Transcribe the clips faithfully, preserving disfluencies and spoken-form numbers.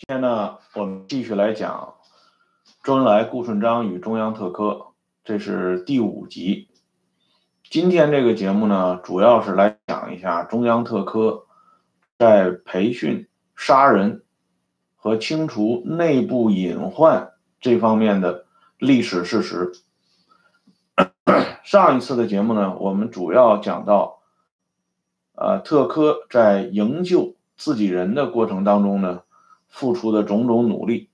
今天呢，我们继续来讲周恩来、顾顺章与中央特科，这是第五集。今天这个节目呢，主要是来讲一下中央特科在培训、杀人和清除内部隐患这方面的历史事实。上一次的节目呢，我们主要讲到，呃，特科在营救自己人的过程当中呢，付出的种种努力。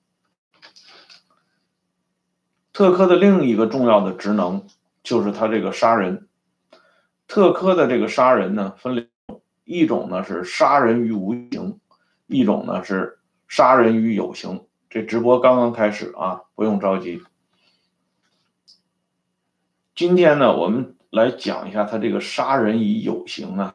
特科的另一个重要的职能就是他这个杀人。特科的这个杀人呢，分两种，一种呢是杀人于无形，一种呢是杀人于有形。这直播刚刚开始啊，不用着急。今天呢，我们来讲一下他这个杀人于有形啊。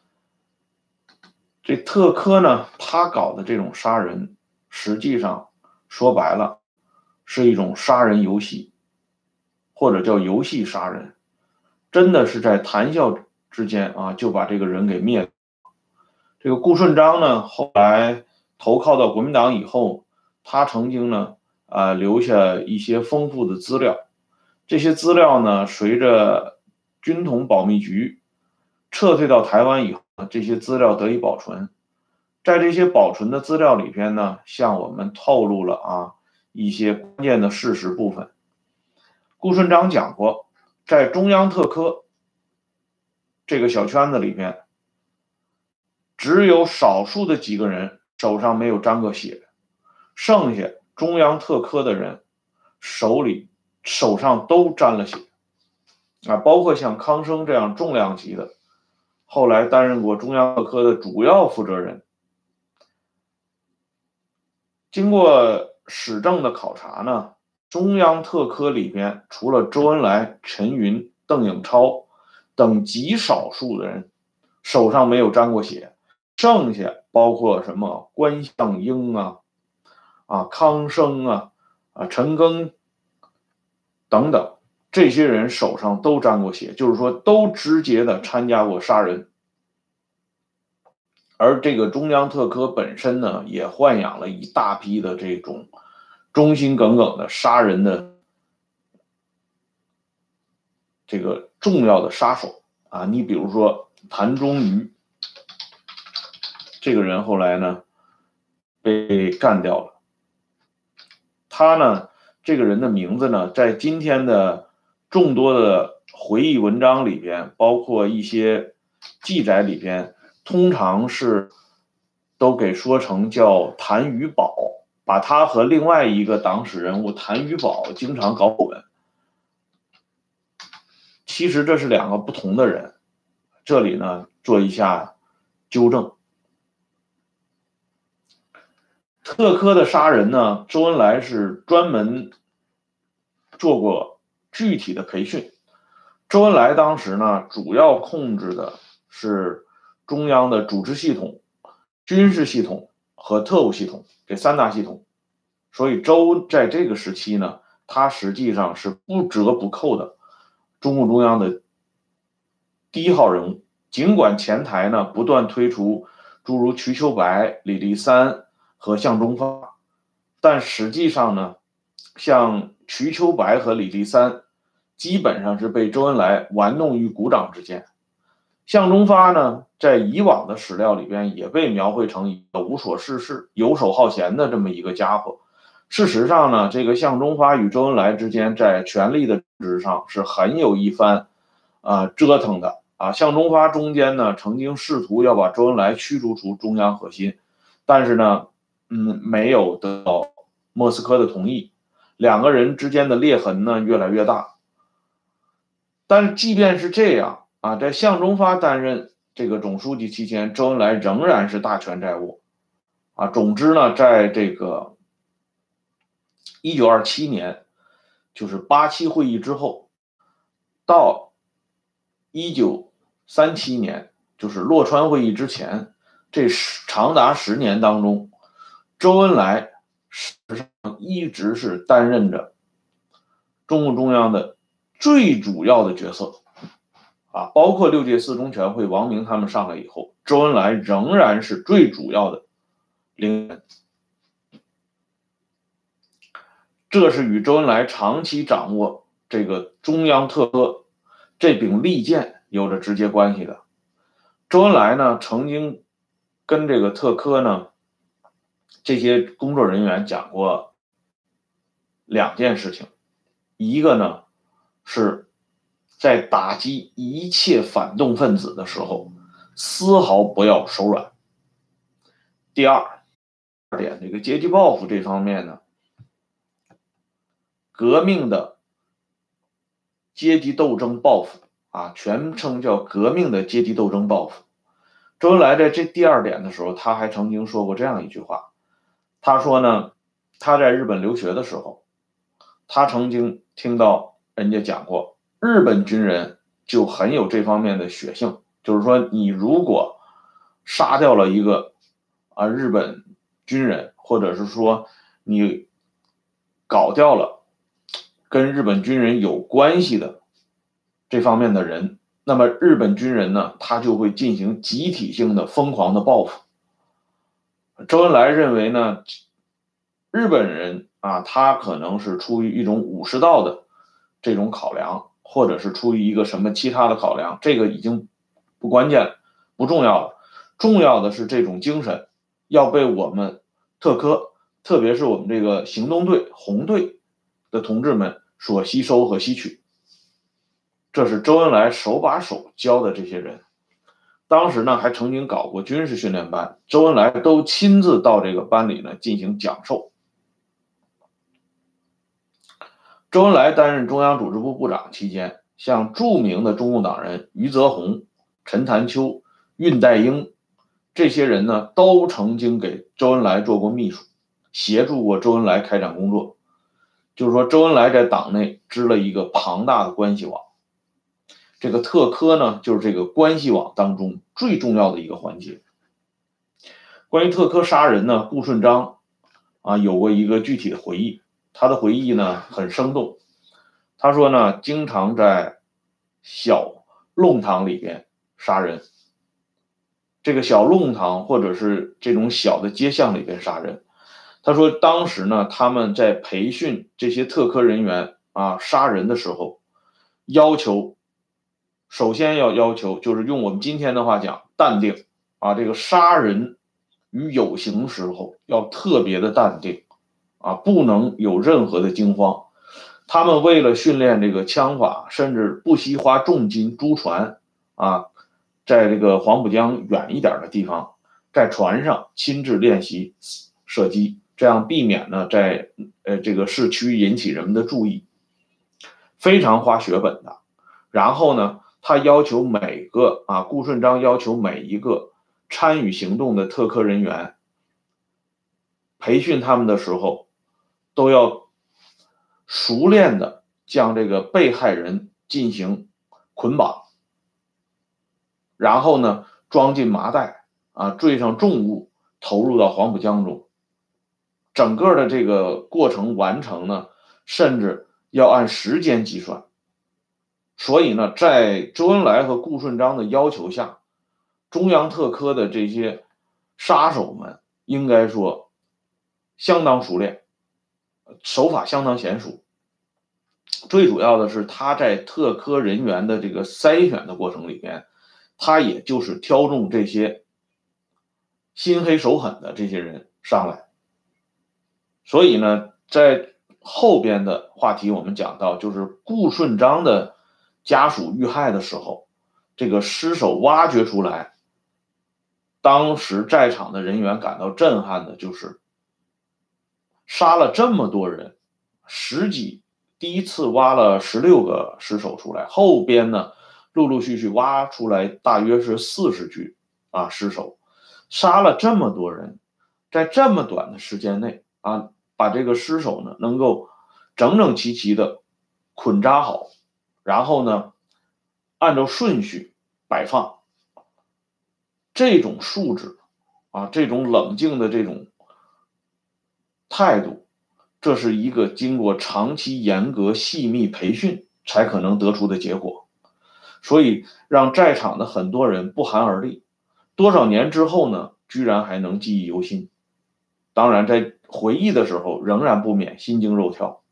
这特科呢，他搞的这种杀人，实际上说白了是一种杀人游戏，或者叫游戏杀人，真的是在谈笑之间啊就把这个人给灭了。这个顾顺章呢，后来投靠到国民党以后，他曾经呢啊、呃、留下一些丰富的资料，这些资料呢随着军统保密局撤退到台湾以后，这些资料得以保存。在这些保存的资料里边呢，向我们透露了啊一些关键的事实部分。顾顺章讲过，在中央特科这个小圈子里边，只有少数的几个人手上没有沾过血，剩下中央特科的人手里手上都沾了血啊，包括像康生这样重量级的，后来担任过中央特科的主要负责人。经过史证的考察呢，中央特科里边除了周恩来、陈云、邓颖超等极少数的人手上没有沾过血，剩下包括什么关向英啊、啊康生啊、啊陈赓等等，这些人手上都沾过血，就是说都直接的参加过杀人。而这个中央特科本身呢，也豢养了一大批的这种忠心耿耿的杀人的这个重要的杀手啊。你比如说谭忠于这个人，后来呢被干掉了。他呢，这个人的名字呢，在今天的众多的回忆文章里边，包括一些记载里边，通常是都给说成叫谭余宝，把他和另外一个党史人物谭余宝经常搞混。其实这是两个不同的人，这里呢做一下纠正。特科的杀人呢，周恩来是专门做过具体的培训。周恩来当时呢，主要控制的是中央的组织系统、军事系统和特务系统这三大系统，所以周在这个时期呢，他实际上是不折不扣的中共中央的第一号人物。尽管前台呢不断推出诸如瞿秋白、李立三和向忠发，但实际上呢，像瞿秋白和李立三基本上是被周恩来玩弄于股掌之间。向忠发呢，在以往的史料里边也被描绘成一个无所事事、游手好闲的这么一个家伙。事实上呢，这个向忠发与周恩来之间在权力的政治上是很有一番啊、呃、折腾的啊。向忠发中间呢，曾经试图要把周恩来驱逐出中央核心，但是呢，嗯，没有得到莫斯科的同意，两个人之间的裂痕呢越来越大。但是即便是这样啊，在向忠发担任这个总书记期间，周恩来仍然是大权在握啊。总之呢，在这个一九二七年，就是八七会议之后，到一九三七年，就是洛川会议之前，这长达十年当中，周恩来实际上一直是担任着中共中央的最主要的角色啊，包括六届四中全会王明他们上来以后，周恩来仍然是最主要的领导人。 这是与周恩来长期掌握这个中央特科这柄利剑有着直接关系的。周恩来呢，曾经跟这个特科呢这些工作人员讲过两件事情，一个呢是在打击一切反动分子的时候，丝毫不要手软。第二点，这个阶级报复这方面呢，革命的阶级斗争报复啊，全称叫革命的阶级斗争报复。周恩来在这第二点的时候，他还曾经说过这样一句话，他说呢，他在日本留学的时候，他曾经听到人家讲过，日本军人就很有这方面的血性，就是说你如果杀掉了一个啊日本军人，或者是说你搞掉了跟日本军人有关系的这方面的人，那么日本军人呢，他就会进行集体性的疯狂的报复。周恩来认为呢，日本人啊，他可能是出于一种武士道的这种考量，或者是出于一个什么其他的考量，这个已经不关键了，不重要了。重要的是这种精神要被我们特科，特别是我们这个行动队红队的同志们所吸收和吸取。这是周恩来手把手教的这些人。当时呢，还曾经搞过军事训练班，周恩来都亲自到这个班里呢进行讲授。周恩来担任中央组织部部长期间，像著名的中共党人余则红、陈潭秋、恽代英这些人呢，都曾经给周恩来做过秘书，协助过周恩来开展工作。就是说，周恩来在党内织了一个庞大的关系网。这个特科呢，就是这个关系网当中最重要的一个环节。关于特科杀人呢，顾顺章啊有过一个具体的回忆，他的回忆呢很生动。他说呢，经常在小弄堂里边杀人，这个小弄堂或者是这种小的街巷里边杀人。他说当时呢，他们在培训这些特科人员啊杀人的时候，要求首先要要求就是用我们今天的话讲淡定啊，这个杀人与有形时候要特别的淡定啊，不能有任何的惊慌。他们为了训练这个枪法，甚至不惜花重金租船啊，在这个黄浦江远一点的地方，在船上亲自练习射击，这样避免呢在呃这个市区引起人们的注意，非常花血本的。然后呢，他要求每个啊，顾顺章要求每一个参与行动的特科人员，培训他们的时候，都要熟练的将这个被害人进行捆绑，然后呢，装进麻袋啊，坠上重物，投入到黄浦江中。整个的这个过程完成呢，甚至要按时间计算。所以呢，在周恩来和顾顺章的要求下，中央特科的这些杀手们应该说相当熟练，手法相当娴熟。最主要的是他在特科人员的这个筛选的过程里边，他也就是挑中这些心黑手狠的这些人上来。所以呢，在后边的话题我们讲到，就是顾顺章的家属遇害的时候，这个尸首挖掘出来，当时在场的人员感到震撼的就是杀了这么多人，十几第一次挖了十六个尸首出来，后边呢陆陆续续挖出来大约是四十具啊尸首，杀了这么多人，在这么短的时间内啊，把这个尸首呢能够整整齐齐的捆扎好，然后呢按照顺序摆放，这种素质啊，这种冷静的这种态度，这是一个经过长期严格细密培训才可能得出的结果，所以让在场的很多人不寒而栗。多少年之后呢，居然还能记忆犹新。当然，在回忆的时候，仍然不免心惊肉跳。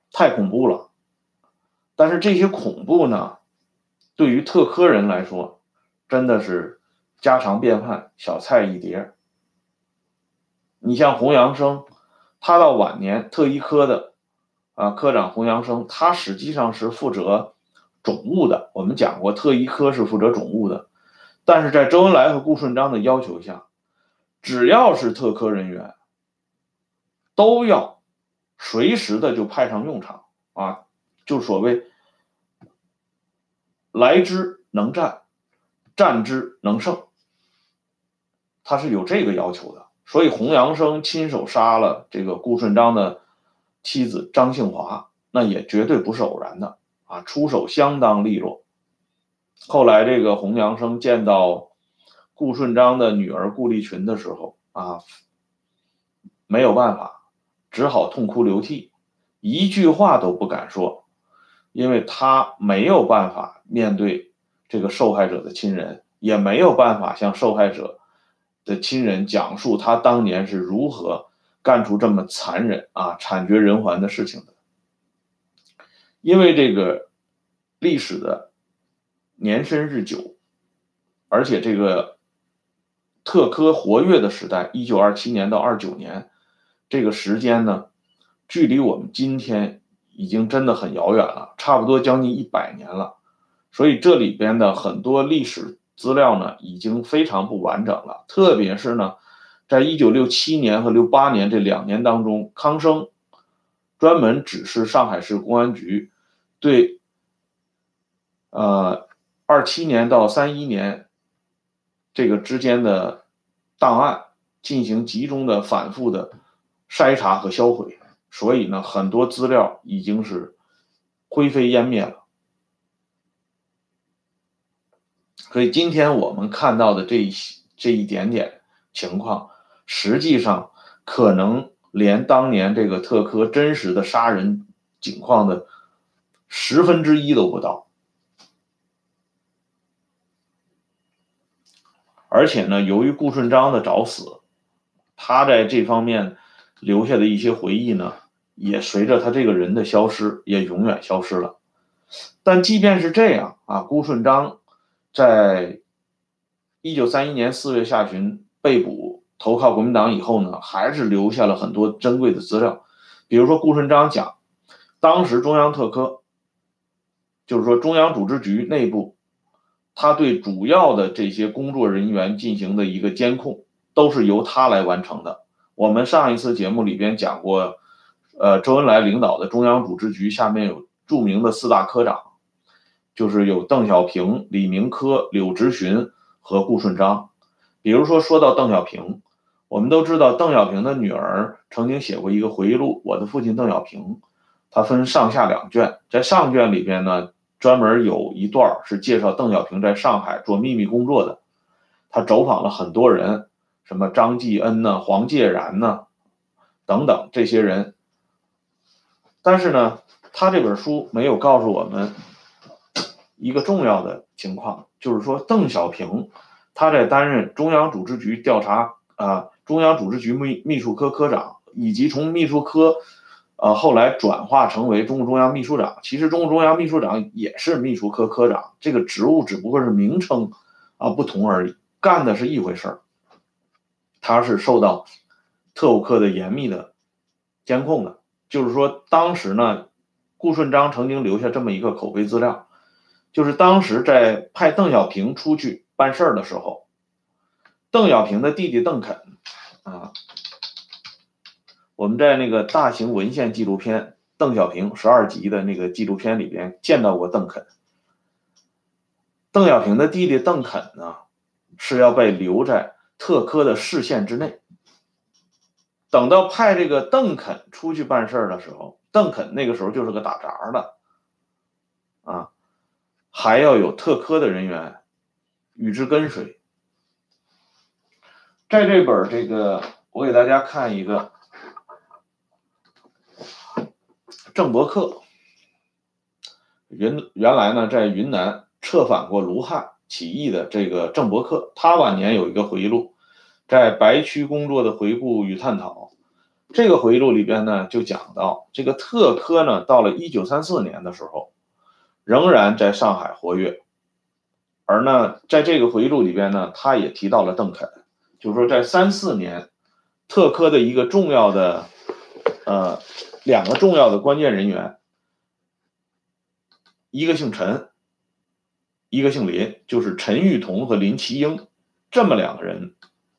太恐怖了。但是这些恐怖呢，对于特科人来说，真的是家常便饭，小菜一碟。你像洪阳生，他到晚年特医科的啊科长洪阳生，他实际上是负责种物的。我们讲过，特医科是负责种物的，但是在周恩来和顾顺章的要求下，只要是特科人员，都要随时的就派上用场啊，就所谓来之能战，战之能胜，他是有这个要求的。所以洪阳生亲手杀了这个顾顺章的妻子张庆华，那也绝对不是偶然的啊，出手相当利落。后来这个洪阳生见到顾顺章的女儿顾立群的时候啊，没有办法，只好痛哭流涕，一句话都不敢说，因为他没有办法面对这个受害者的亲人，也没有办法向受害者的亲人讲述他当年是如何干出这么残忍啊惨绝人寰的事情的。因为这个历史的年深日久，而且这个特科活跃的时代一九二七年到二九年，这个时间呢距离我们今天已经真的很遥远了，差不多将近一百年了。所以这里边的很多历史资料呢已经非常不完整了，特别是呢在一九六七年和六八年这两年当中，康生专门指示上海市公安局对呃二七年到三一年这个之间的档案进行集中的反复的筛查和销毁，所以呢很多资料已经是灰飞烟灭了。所以今天我们看到的这一这一点点情况，实际上可能连当年这个特科真实的杀人情况的十分之一都不到。而且呢，由于顾顺章的早死，他在这方面留下的一些回忆呢，也随着他这个人的消失，也永远消失了。但即便是这样啊，顾顺章在一九三一年四月下旬被捕投靠国民党以后呢，还是留下了很多珍贵的资料。比如说顾顺章讲，当时中央特科，就是说中央组织局内部，他对主要的这些工作人员进行的一个监控，都是由他来完成的。我们上一次节目里边讲过，呃，周恩来领导的中央组织局下面有著名的四大科长，就是有邓小平、李明科、柳直荀和顾顺章。比如说说到邓小平，我们都知道邓小平的女儿曾经写过一个回忆录《我的父亲邓小平》，它分上下两卷，在上卷里边呢，专门有一段是介绍邓小平在上海做秘密工作的，他走访了很多人，什么张继恩呢、黄介然呢等等这些人。但是呢，他这本书没有告诉我们一个重要的情况，就是说邓小平他在担任中央组织局调查啊、呃、中央组织局秘秘书科科长，以及从秘书科呃后来转化成为中共中央秘书长。其实中共中央秘书长也是秘书科科长，这个职务只不过是名称啊不同而已，干的是一回事儿。他是受到特务科的严密的监控的。就是说当时呢，顾顺章曾经留下这么一个口碑资料，就是当时在派邓小平出去办事儿的时候，邓小平的弟弟邓肯啊，我们在那个大型文献纪录片《邓小平十二集》的那个纪录片里边见到过邓肯。邓小平的弟弟邓肯呢，是要被留在特科的视线之内。等到派这个邓肯出去办事的时候，邓肯那个时候就是个打杂的啊，还要有特科的人员与之跟随。在这本这个，我给大家看一个郑伯克，原原来呢在云南策反过卢汉起义的这个郑伯克，他晚年有一个回忆录，在白区工作的回顾与探讨。 这个回忆录里边呢就讲到，这个特科呢到了一九三四年的时候，仍然在上海活跃。而呢，在这个回忆录里边呢，他也提到了邓肯，就是说在三四年，特科的一个重要的呃两个重要的关键人员，一个姓陈，一个姓林，就是陈玉彤和林奇英，这么两个人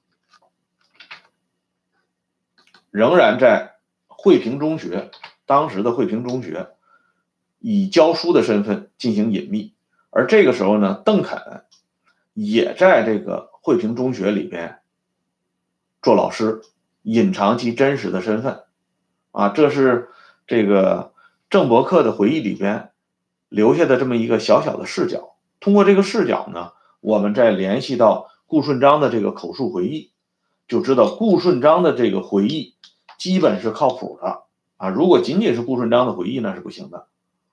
仍然在惠平中学，当时的惠平中学，以教书的身份进行隐秘。而这个时候呢，邓肯也在这个惠平中学里边做老师，隐藏其真实的身份。啊，这是这个郑伯克的回忆里边留下的这么一个小小的视角。通过这个视角呢，我们再联系到顾顺章的这个口述回忆，就知道顾顺章的这个回忆基本是靠谱的啊。如果仅仅是顾顺章的回忆那是不行的。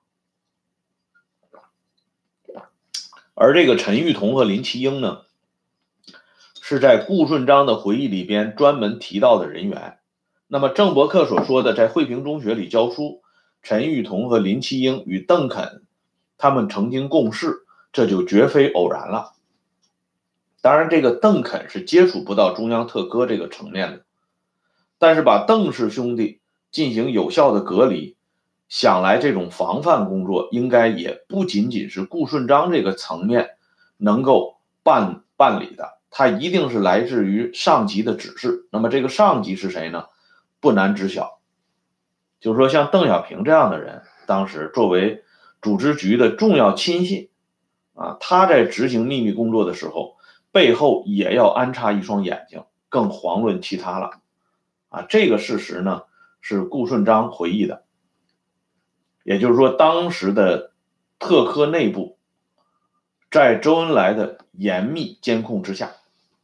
而这个陈玉彤和林奇英呢，是在顾顺章的回忆里边专门提到的人员。那么郑伯克所说的在惠平中学里教书，陈玉彤和林奇英与邓肯他们曾经共事，这就绝非偶然了。当然这个邓肯是接触不到中央特科这个层面的，但是把邓氏兄弟进行有效的隔离，想来这种防范工作应该也不仅仅是顾顺章这个层面能够办办理的，它一定是来自于上级的指示。那么这个上级是谁呢？不难知晓，就是说像邓小平这样的人，当时作为组织局的重要亲信啊，他在执行秘密工作的时候，背后也要安插一双眼睛，更遑论其他了啊。这个事实呢是顾顺章回忆的，也就是说当时的特科内部在周恩来的严密监控之下，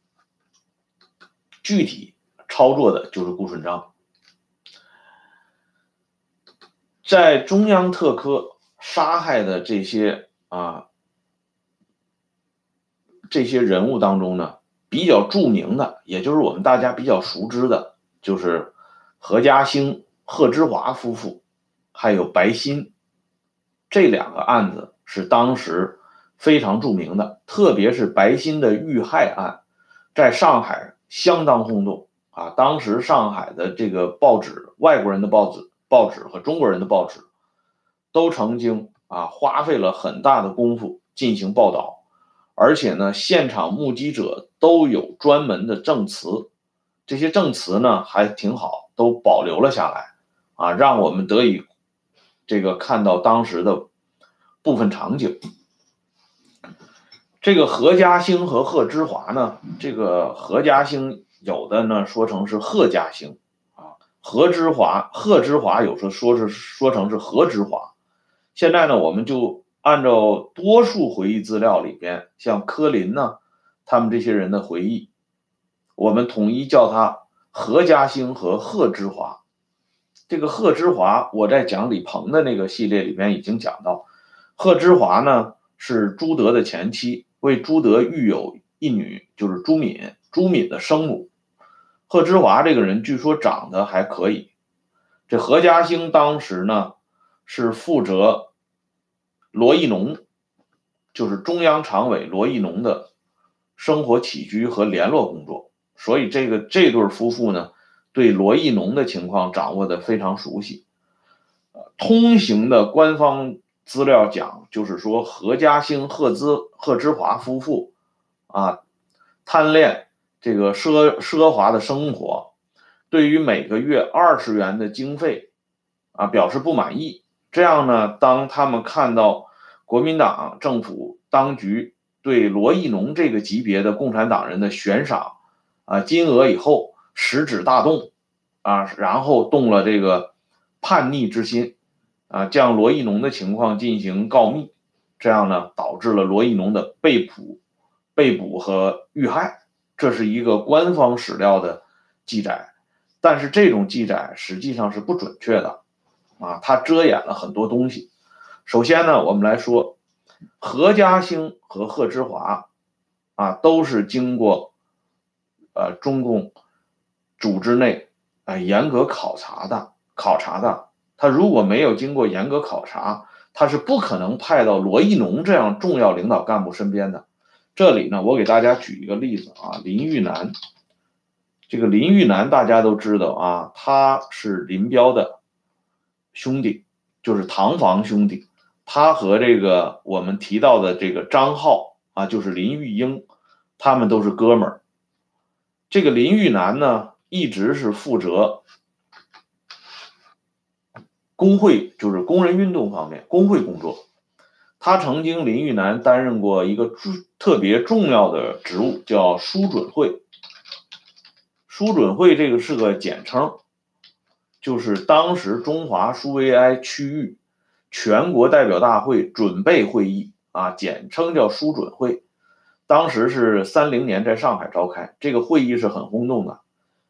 具体操作的就是顾顺章。在中央特科杀害的这些啊这些人物当中呢，比较著名的，也就是我们大家比较熟知的，就是何家兴、贺知华夫妇，还有白鑫，这两个案子是当时非常著名的，特别是白鑫的遇害案，在上海相当轰动啊！当时上海的这个报纸，外国人的报纸、报纸和中国人的报纸，都曾经啊花费了很大的功夫进行报道，而且呢，现场目击者都有专门的证词，这些证词呢还挺好，都保留了下来啊，让我们得以这个看到当时的部分场景。这个何家兴和贺知华呢，这个何家兴有的呢说成是贺家兴啊，何知华贺知华有时候说是说成是何知华。现在呢，我们就按照多数回忆资料里边，像柯林呢，他们这些人的回忆，我们统一叫他何家兴和贺知华。这个贺知华，我在讲李鹏的那个系列里边已经讲到，贺知华呢是朱德的前妻，为朱德育有一女，就是朱敏，朱敏的生母。贺知华这个人据说长得还可以。这何家兴当时呢是负责罗亦农，就是中央常委罗亦农的生活起居和联络工作，所以这个这对夫妇呢对罗亦农的情况掌握的非常熟悉。通行的官方资料讲，就是说何家兴、贺知贺知华夫妇啊，贪恋这个奢奢华的生活，对于每个月二十元的经费啊表示不满意。这样呢，当他们看到国民党政府当局对罗亦农这个级别的共产党人的悬赏啊金额以后，食指大动啊，然后动了这个叛逆之心啊，将罗亦农的情况进行告密，这样呢，导致了罗亦农的被捕、被捕和遇害。这是一个官方史料的记载，但是这种记载实际上是不准确的啊，它遮掩了很多东西。首先呢，我们来说何家兴和贺知华啊，都是经过呃中共组织内哎严格考察的考察的。他如果没有经过严格考察，他是不可能派到罗一农这样重要领导干部身边的。这里呢，我给大家举一个例子啊，林玉南。这个林玉南大家都知道啊，他是林彪的兄弟，就是堂房兄弟。他和这个我们提到的这个张浩啊，就是林玉英，他们都是哥们儿。这个林玉南呢，一直是负责工会，就是工人运动方面工会工作。他曾经林玉南担任过一个特别重要的职务，叫书准会。书准会这个是个简称，就是当时中华苏维埃区域全国代表大会准备会议啊，简称叫书准会。当时是三零年在上海召开，这个会议是很轰动的。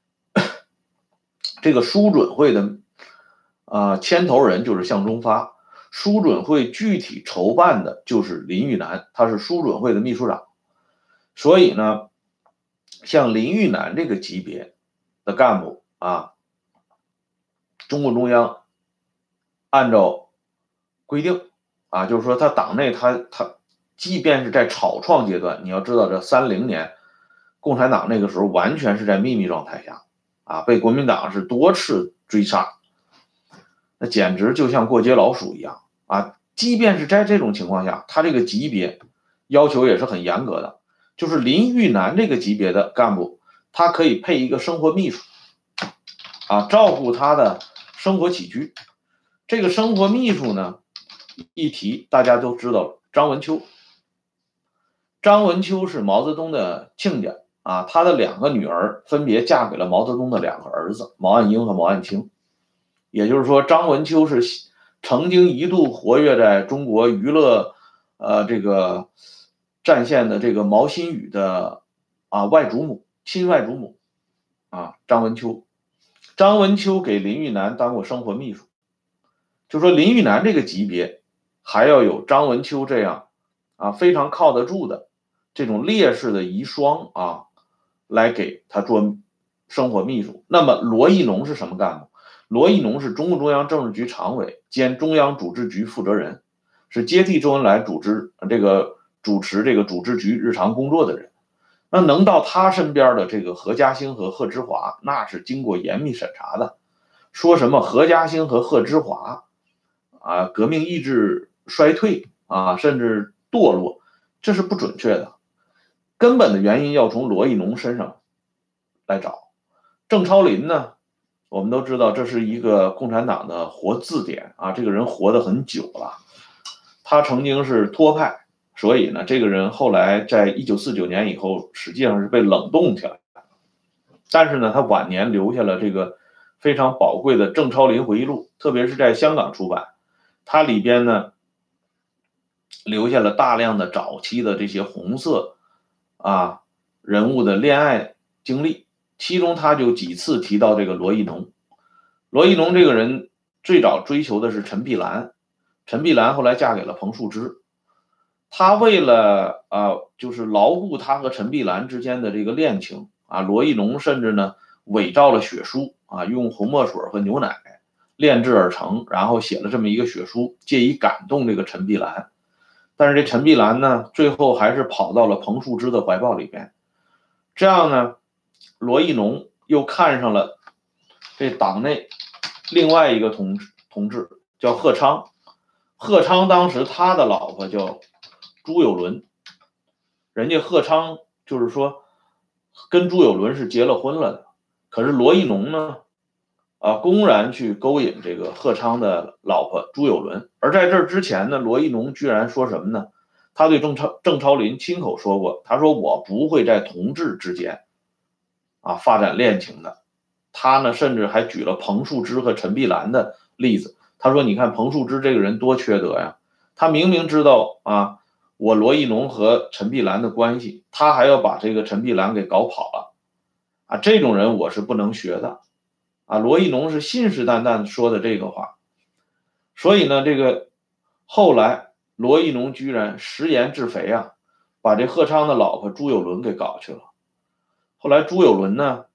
这个书准会的啊牵头人就是向忠发，书准会具体筹办的就是林玉南，他是书准会的秘书长。所以呢，像林玉南这个级别的干部啊，中共中央按照规定啊，就是说他党内他他即便是在草创阶段，你要知道这三零年共产党那个时候完全是在秘密状态下啊，被国民党是多次追杀，那简直就像过街老鼠一样啊。即便是在这种情况下，他这个级别要求也是很严格的，就是林玉南这个级别的干部，他可以配一个生活秘书啊，照顾他的生活起居。这个生活秘书呢，一提大家都知道了，张文秋。张文秋是毛泽东的亲家啊，他的两个女儿分别嫁给了毛泽东的两个儿子，毛岸英和毛岸青。也就是说，张文秋是曾经一度活跃在中国娱乐呃这个战线的这个毛新宇的啊外祖母，亲外祖母啊张文秋。张文秋给林玉南当过生活秘书，就说林玉南这个级别还要有张文秋这样啊非常靠得住的这种烈士的遗孀啊来给他做生活秘书。那么罗一农是什么干部？罗一农是中共中央政治局常委兼中央组织局负责人，是接替周恩来组织这个主持这个组织局日常工作的人。那能到他身边的这个何家兴和贺知华，那是经过严密审查的。说什么何家兴和贺知华啊革命意志衰退啊甚至堕落，这是不准确的。根本的原因要从罗一农身上来找。郑超林呢，我们都知道这是一个共产党的活字典啊，这个人活得很久了。他曾经是托派，所以呢，这个人后来在一九四九年以后，实际上是被冷冻起来。但是呢，他晚年留下了这个非常宝贵的郑超林回忆录，特别是在香港出版，它里边呢留下了大量的早期的这些红色啊人物的恋爱经历，其中他就几次提到这个罗一农。罗一农这个人最早追求的是陈碧兰，陈碧兰后来嫁给了彭树之。他为了啊，就是牢固他和陈碧兰之间的这个恋情啊，罗一农甚至呢伪造了血书啊，用红墨水和牛奶炼制而成，然后写了这么一个血书，借以感动这个陈碧兰。但是这陈碧兰呢，最后还是跑到了彭树之的怀抱里边。这样呢，罗一农又看上了这党内另外一个同志，同志叫贺昌。贺昌当时他的老婆叫朱有伦，人家贺昌就是说跟朱有伦是结了婚了的。可是罗一农呢，啊，公然去勾引这个贺昌的老婆朱有伦。而在这之前呢，罗一农居然说什么呢？他对郑超郑超林亲口说过，他说我不会在同志之间啊发展恋情的。他呢，甚至还举了彭树之和陈碧兰的例子。他说：“你看彭树之这个人多缺德呀！他明明知道啊，我罗一农和陈碧兰的关系，他还要把这个陈碧兰给搞跑了啊！这种人我是不能学的啊！”罗一农是信誓旦旦说的这个话。所以呢，这个后来罗一农居然食言致肥啊，把这贺昌的老婆朱有伦给搞去了。后来朱有伦呢，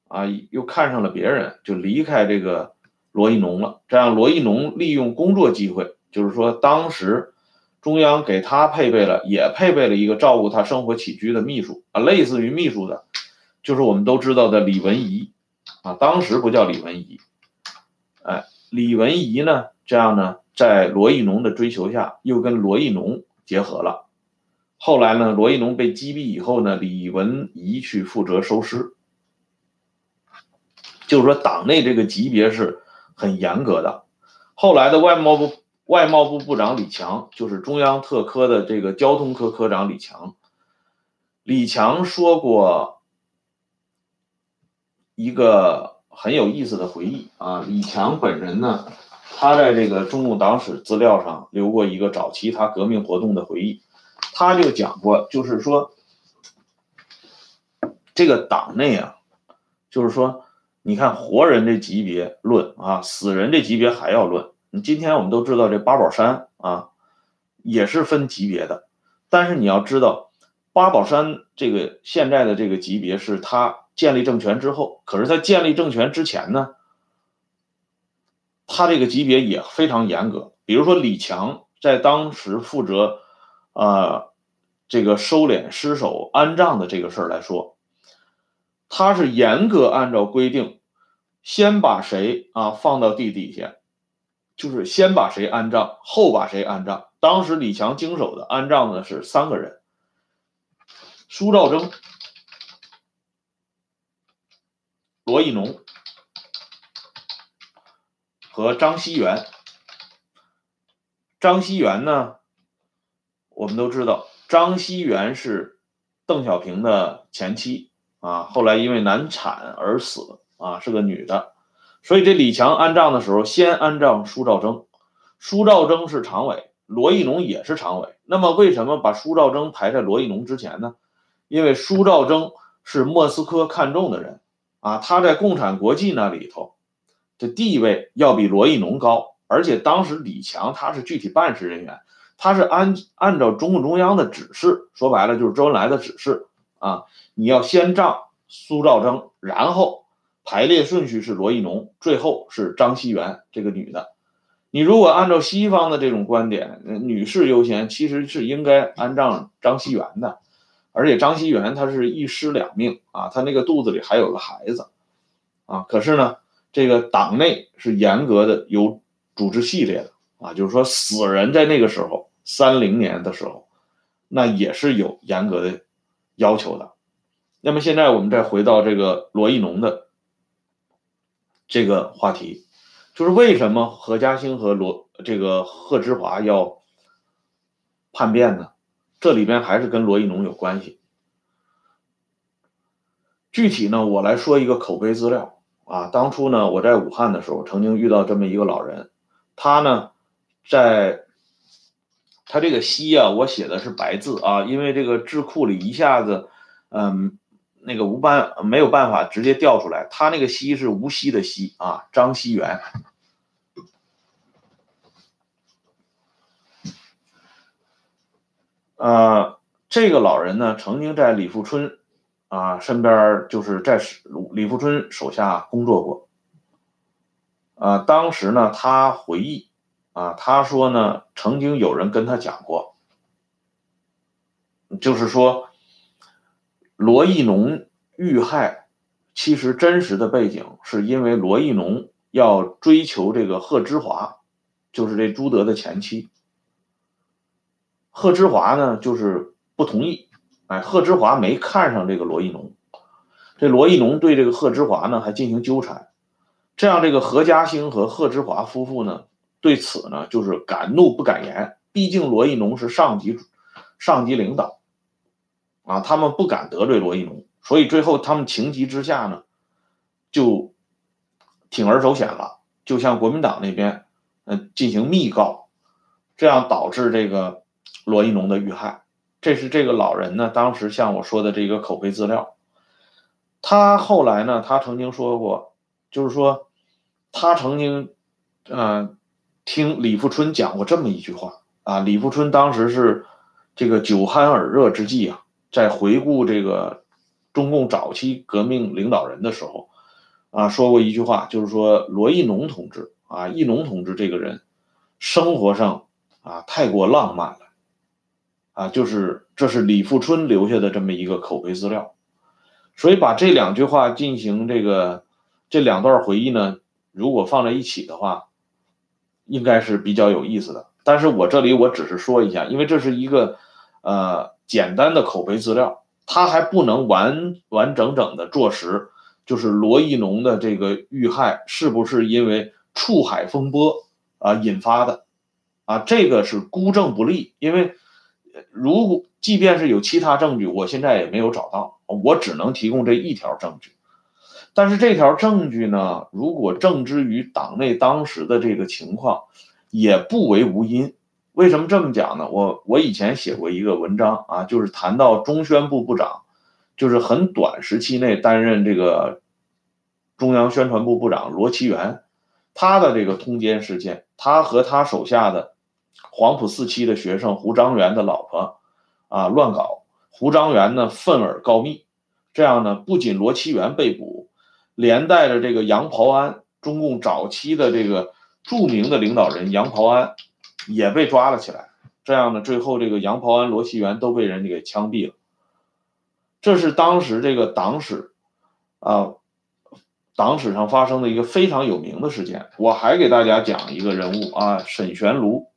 啊，又看上了别人，就离开这个罗亦农了。这样，罗亦农利用工作机会，就是说当时中央给他配备了，也配备了一个照顾他生活起居的秘书啊，类似于秘书的，就是我们都知道的李文仪啊，当时不叫李文仪，哎，李文仪呢，这样呢，在罗亦农的追求下，又跟罗亦农结合了。后来呢，罗亦农被击毙以后呢，李文仪去负责收尸。就是说，党内这个级别是很严格的。后来的外贸部外贸部部长李强，就是中央特科的这个交通科科长李强。李强说过一个很有意思的回忆啊。李强本人呢，他在这个中共党史资料上留过一个早期他革命活动的回忆。他就讲过，就是说，这个党内啊，就是说。你看活人这级别论啊，死人这级别还要论。你今天我们都知道这八宝山啊，也是分级别的。但是你要知道，八宝山这个现在的这个级别是他建立政权之后，可是他建立政权之前呢，他这个级别也非常严格。比如说李强在当时负责呃这个收敛尸首安葬的这个事儿来说，他是严格按照规定，先把谁啊放到地底下，就是先把谁安葬，后把谁安葬。当时李强经手的安葬的是三个人：苏兆征、罗亦农和张锡元。张锡元呢，我们都知道，张锡元是邓小平的前妻啊，后来因为难产而死啊，是个女的。所以这李强安葬的时候，先安葬苏兆征，苏兆征是常委，罗亦农也是常委。那么为什么把苏兆征排在罗亦农之前呢？因为苏兆征是莫斯科看中的人啊，他在共产国际那里头的地位要比罗亦农高，而且当时李强他是具体办事人员，他是按按照中共中央的指示，说白了就是周恩来的指示啊，你要先葬苏兆征，然后排列顺序是罗亦农，最后是张锡元这个女的。你如果按照西方的这种观点，女士优先，其实是应该安葬张锡元的。而且张锡元他是一尸两命啊，他那个肚子里还有个孩子啊。可是呢，这个党内是严格的有组织系列的啊，就是说死人在那个时候，三零年的时候，那也是有严格的要求的。那么现在我们再回到这个罗亦农的这个话题，就是为什么何家兴和罗这个贺知华要叛变呢？这里边还是跟罗亦农有关系。具体呢，我来说一个口碑资料啊。当初呢，我在武汉的时候，曾经遇到这么一个老人，他呢，在他这个西啊，我写的是白字啊，因为这个智库里一下子，嗯，那个无办没有办法直接调出来，他那个西是无锡的锡啊，张锡元。呃，这个老人呢，曾经在李富春啊身边，就是在李富春手下工作过。啊，当时呢，他回忆啊，他说呢，曾经有人跟他讲过，就是说，罗亦农遇害，其实真实的背景是因为罗亦农要追求这个贺知华，就是这朱德的前妻。贺知华呢，就是不同意，哎，贺知华没看上这个罗亦农，这罗亦农对这个贺知华呢还进行纠缠，这样这个何家兴和贺知华夫妇呢对此呢就是敢怒不敢言，毕竟罗亦农是上级上级领导啊，他们不敢得罪罗亦农，所以最后他们情急之下呢就铤而走险了，就向国民党那边嗯、呃、进行密告，这样导致这个罗亦农的遇害。这是这个老人呢当时向我说的这个口碑资料。他后来呢，他曾经说过，就是说他曾经呃听李富春讲过这么一句话啊。李富春当时是这个酒酣耳热之际啊，在回顾这个中共早期革命领导人的时候， 啊说过一句话，就是说罗亦农同志啊，亦农同志这个人生活上啊太过浪漫了啊，就是这是李富春留下的这么一个口碑资料。所以把这两句话进行这个这两段回忆呢，如果放在一起的话，应该是比较有意思的。但是我这里我只是说一下，因为这是一个呃简单的口碑资料，它还不能完完整整的坐实，就是罗亦农的这个遇害是不是因为触海风波啊引发的啊，这个是孤证不立，因为如果即便是有其他证据，我现在也没有找到，我只能提供这一条证据。但是这条证据呢，如果正之于党内当时的这个情况，也不为无因。为什么这么讲呢？我我以前写过一个文章啊，就是谈到中宣部部长，就是很短时期内担任这个中央宣传部部长罗奇元，他的这个通奸事件，他和他手下的黄埔四期的学生胡章元的老婆啊乱搞，胡章元呢愤而告密，这样呢不仅罗奇元被捕，连带着这个杨袍安，中共早期的这个著名的领导人杨袍安也被抓了起来，这样呢最后这个杨袍安、罗奇元都被人家给枪毙了。这是当时这个党史啊，党史上发生的一个非常有名的事件。我还给大家讲一个人物啊，沈玄庐，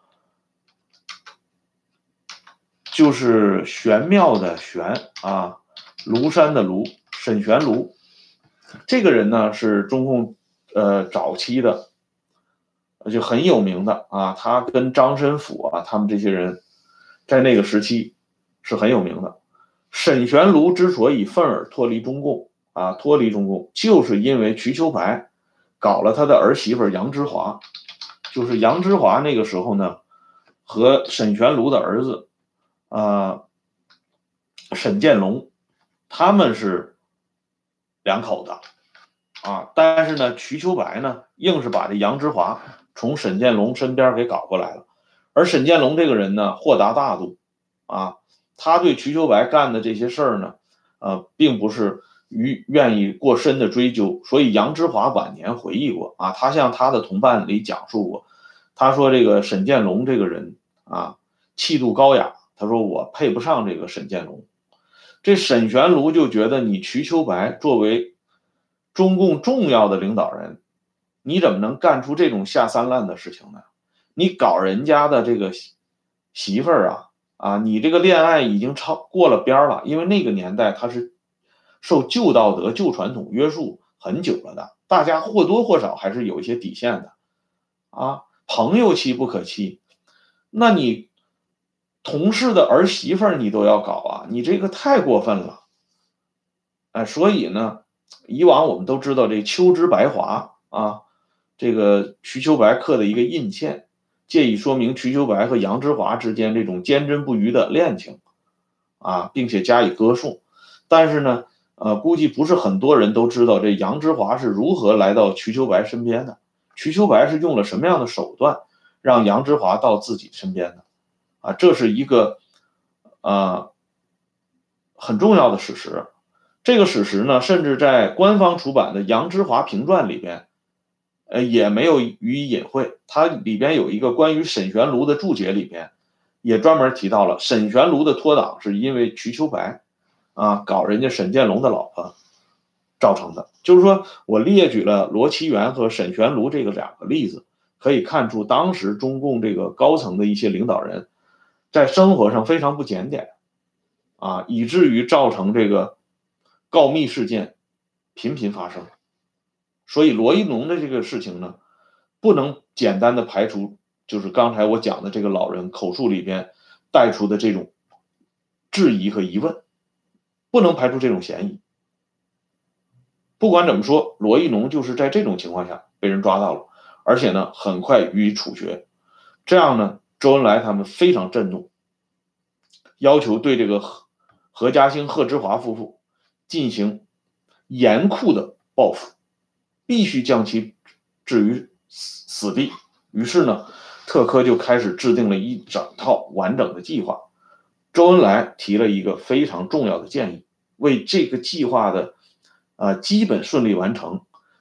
就是玄妙的玄啊，庐山的庐，沈玄庐。这个人呢是中共呃早期的就很有名的啊，他跟张申府啊他们这些人在那个时期是很有名的。沈玄庐之所以愤而脱离中共啊，脱离中共，就是因为瞿秋白搞了他的儿媳妇杨之华，就是杨之华那个时候呢和沈玄庐的儿子啊沈建龙，他们是两口子啊，但是呢瞿秋白呢硬是把这杨之华从沈建龙身边给搞过来了。而沈建龙这个人呢豁达大度啊，他对瞿秋白干的这些事儿呢呃并不是于愿意过深的追究。所以杨之华晚年回忆过啊，他向他的同伴里讲述过，他说这个沈建龙这个人啊气度高雅，他说我配不上这个沈建龙。这沈玄庐就觉得你瞿秋白作为中共重要的领导人，你怎么能干出这种下三滥的事情呢？你搞人家的这个媳妇儿啊啊，你这个恋爱已经超过了边了，因为那个年代他是受旧道德、旧传统约束很久了的，大家或多或少还是有一些底线的啊。朋友妻不可欺，那你同事的儿媳妇儿你都要搞啊，你这个太过分了。哎，所以呢，以往我们都知道这秋之白华啊，这个瞿秋白刻的一个印签，借以说明瞿秋白和杨之华之间这种坚贞不渝的恋情啊，并且加以歌颂。但是呢，呃，估计不是很多人都知道这杨之华是如何来到瞿秋白身边的，瞿秋白是用了什么样的手段让杨之华到自己身边的啊，这是一个呃很重要的史实。这个史实呢，甚至在官方出版的《杨之华评传》里边，呃，也没有予以隐晦。它里边有一个关于沈玄庐的注解，里边也专门提到了沈玄庐的脱党是因为瞿秋白啊搞人家沈建龙的老婆造成的。就是说我列举了罗奇元和沈玄庐这个两个例子，可以看出当时中共这个高层的一些领导人在生活上非常不检点啊，以至于造成这个告密事件频频发生。所以罗亦农的这个事情呢，不能简单的排除就是刚才我讲的这个老人口述里边带出的这种质疑和疑问，不能排除这种嫌疑。不管怎么说，罗亦农就是在这种情况下被人抓到了，而且呢很快予以处决。这样呢周恩来他们非常震怒，要求对这个何何家兴、贺之华夫妇进行严酷的报复，必须将其置于死地。于是呢，特科就开始制定了一整套完整的计划。周恩来提了一个非常重要的建议，为这个计划的呃基本顺利完成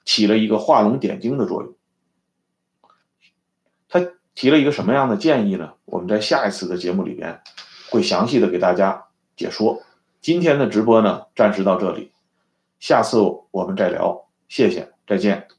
起了一个画龙点睛的作用。他提了一个什么样的建议呢？我们在下一次的节目里边会详细的给大家解说。今天的直播呢，暂时到这里，下次我们再聊，谢谢，再见。